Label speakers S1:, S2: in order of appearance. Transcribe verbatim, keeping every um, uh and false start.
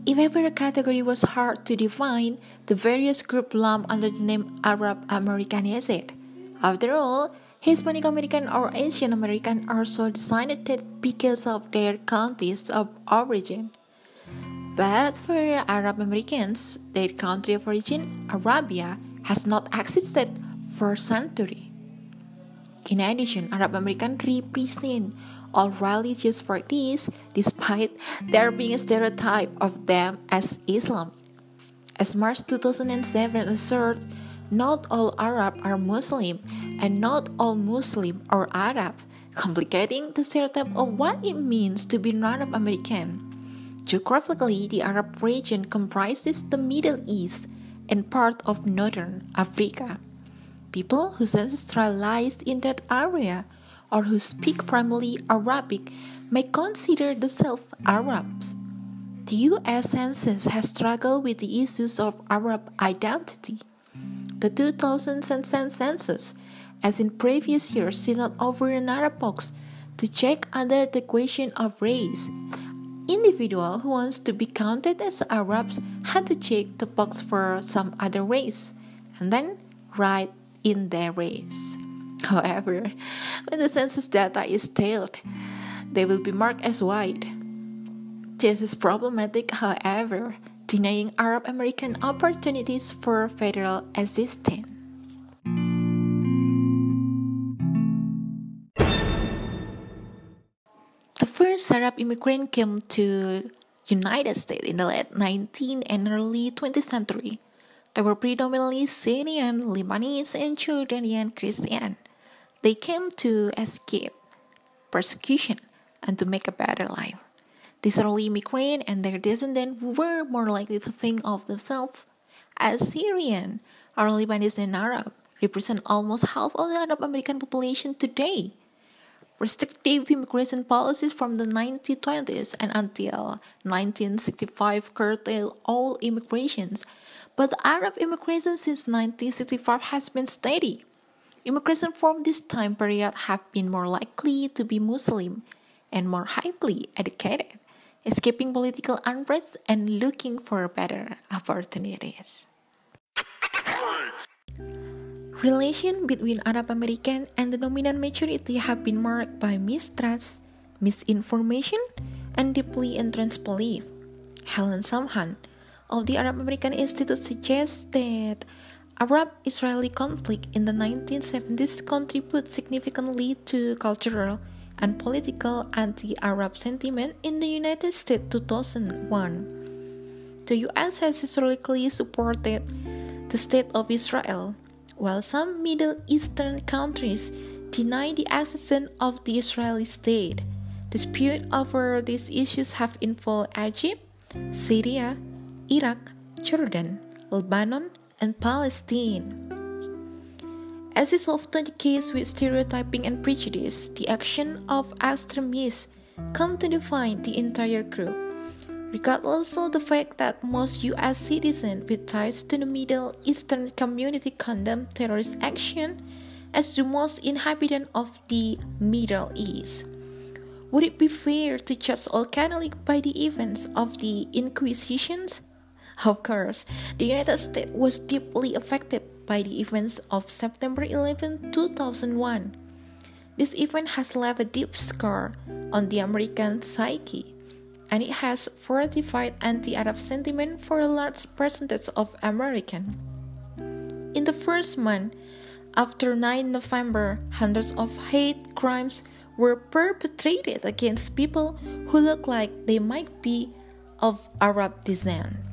S1: If ever a category was hard to define, the various groups lumped under the name Arab American is it. After all, Hispanic American or Asian American are so designated because of their countries of origin. But for Arab Americans, their country of origin, Arabia, has not existed for centuries. In addition, Arab Americans represent all religious parties despite there being a stereotype of them as Islam. As March two thousand seven asserted, not all Arab are Muslim and not all Muslim are Arab, complicating the stereotype of what it means to be an Arab American. Geographically, the Arab region comprises the Middle East and part of Northern Africa. People whose ancestry lies in that area or who speak primarily Arabic may consider themselves Arabs. The U S Census has struggled with the issues of Arab identity. The two thousand census, as in previous years, did not offer an Arab box to check under the question of race. Individuals who wants to be counted as Arabs had to check the box for some other race and then write in their race. However, when the census data is tallied, they will be marked as white. This is problematic, however, denying Arab American opportunities for federal assistance. The first Arab immigrant came to United States in the late nineteenth and early twentieth century. They were predominantly Syrian, Lebanese, and Jordanian Christian. They came to escape persecution and to make a better life. These early immigrants and their descendants were more likely to think of themselves as Syrian or Lebanese and Arab, represent almost half of the Arab American population today. Restrictive immigration policies from the nineteen twenties and until nineteen sixty-five curtailed all immigrations, but Arab immigration since nineteen sixty-five has been steady. Immigration from this time period have been more likely to be Muslim and more highly educated, escaping political unrest and looking for better opportunities. Relations between Arab American and the dominant majority have been marked by mistrust, misinformation, and deeply entrenched belief. Helen Samhan of the Arab American Institute suggests that Arab-Israeli conflict in the nineteen seventies contributed significantly to cultural and political anti-Arab sentiment in the United States two thousand one. The U S has historically supported the State of Israel, while some Middle Eastern countries deny the existence of the Israeli state. Disputes over these issues have involved Egypt, Syria, Iraq, Jordan, Lebanon, and Palestine. As is often the case with stereotyping and prejudice, the action of extremists come to define the entire group. Regardless of the fact that most U S citizens with ties to the Middle Eastern community condemn terrorist action as the most inhabitant of the Middle East. Would it be fair to judge all Catholics by the events of the Inquisitions? Of course, the United States was deeply affected by the events of September eleventh, two thousand one. This event has left a deep scar on the American psyche, and it has fortified anti-Arab sentiment for a large percentage of Americans. In the first month after nine November, hundreds of hate crimes were perpetrated against people who looked like they might be of Arab descent.